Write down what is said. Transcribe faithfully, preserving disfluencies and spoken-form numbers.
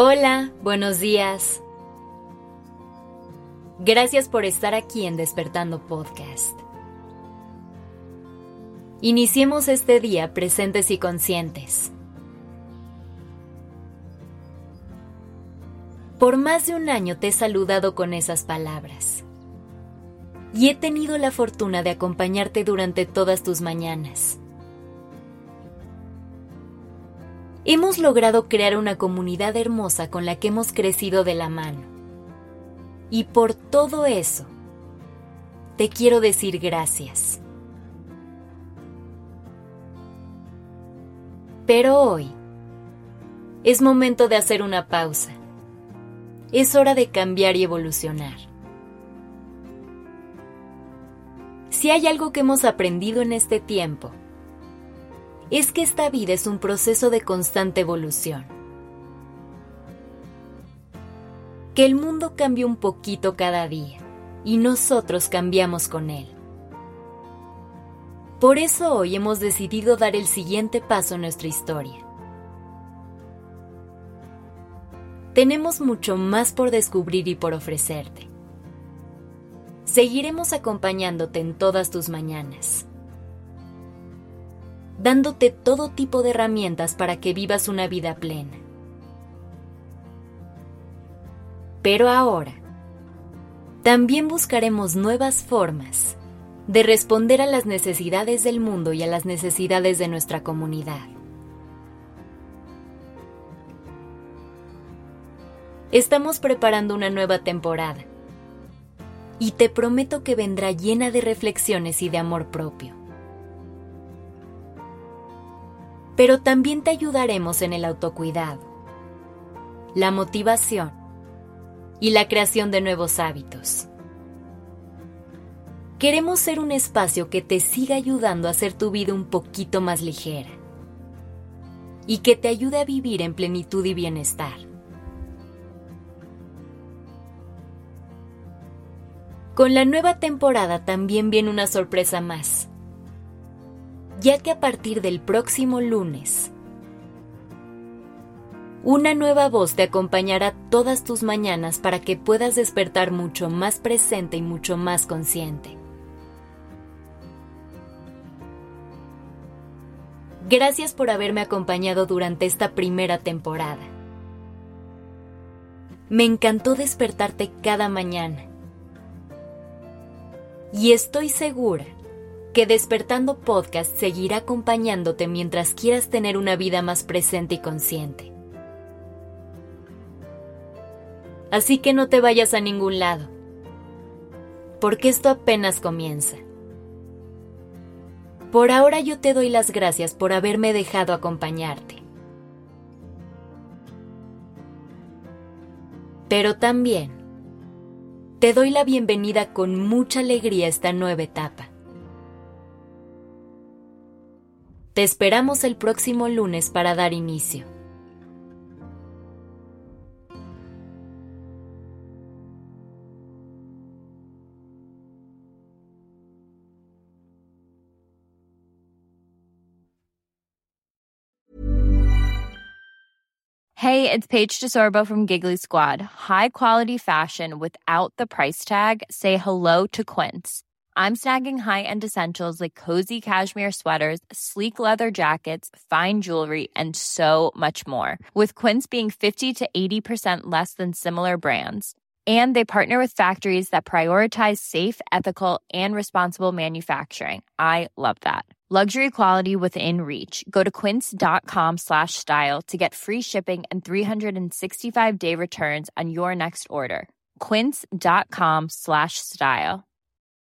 Hola, buenos días. Gracias por estar aquí en Despertando Podcast. Iniciemos este día presentes y conscientes. Por más de un año te he saludado con esas palabras. Y he tenido la fortuna de acompañarte durante todas tus mañanas. Hemos logrado crear una comunidad hermosa con la que hemos crecido de la mano. Y por todo eso, te quiero decir gracias. Pero hoy, es momento de hacer una pausa. Es hora de cambiar y evolucionar. Si hay algo que hemos aprendido en este tiempo, es que esta vida es un proceso de constante evolución. Que el mundo cambia un poquito cada día y nosotros cambiamos con él. Por eso hoy hemos decidido dar el siguiente paso en nuestra historia. Tenemos mucho más por descubrir y por ofrecerte. Seguiremos acompañándote en todas tus mañanas, dándote todo tipo de herramientas para que vivas una vida plena. Pero ahora, también buscaremos nuevas formas de responder a las necesidades del mundo y a las necesidades de nuestra comunidad. Estamos preparando una nueva temporada y te prometo que vendrá llena de reflexiones y de amor propio. Pero también te ayudaremos en el autocuidado, la motivación y la creación de nuevos hábitos. Queremos ser un espacio que te siga ayudando a hacer tu vida un poquito más ligera y que te ayude a vivir en plenitud y bienestar. Con la nueva temporada también viene una sorpresa más, ya que a partir del próximo lunes, una nueva voz te acompañará todas tus mañanas para que puedas despertar mucho más presente y mucho más consciente. Gracias por haberme acompañado durante esta primera temporada. Me encantó despertarte cada mañana. Y estoy segura que Despertando Podcast seguirá acompañándote mientras quieras tener una vida más presente y consciente. Así que no te vayas a ningún lado, porque esto apenas comienza. Por ahora yo te doy las gracias por haberme dejado acompañarte. Pero también te doy la bienvenida con mucha alegría a esta nueva etapa. Te esperamos el próximo lunes para dar inicio. Hey, it's Paige DeSorbo from Giggly Squad. High quality fashion without the price tag. Say hello to Quince. I'm snagging high-end essentials like cozy cashmere sweaters, sleek leather jackets, fine jewelry, and so much more. With Quince being fifty to eighty percent less than similar brands. And they partner with factories that prioritize safe, ethical, and responsible manufacturing. I love that. Luxury quality within reach. Go to quince.com slash style to get free shipping and three sixty-five day returns on your next order. Quince.com slash style.